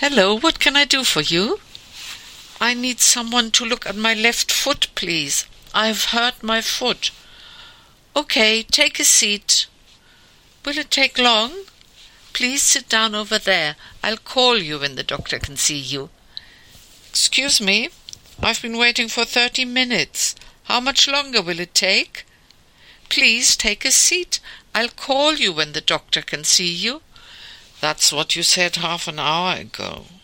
Hello, what can I do for you? I need someone to look at my left foot, please. I've hurt my foot. Okay, take a seat. Will it take long? Please sit down over there. I'll call you when the doctor can see you. Excuse me, I've been waiting for 30 minutes. How much longer will it take? Please take a seat. I'll call you when the doctor can see you. That's what you said half an hour ago.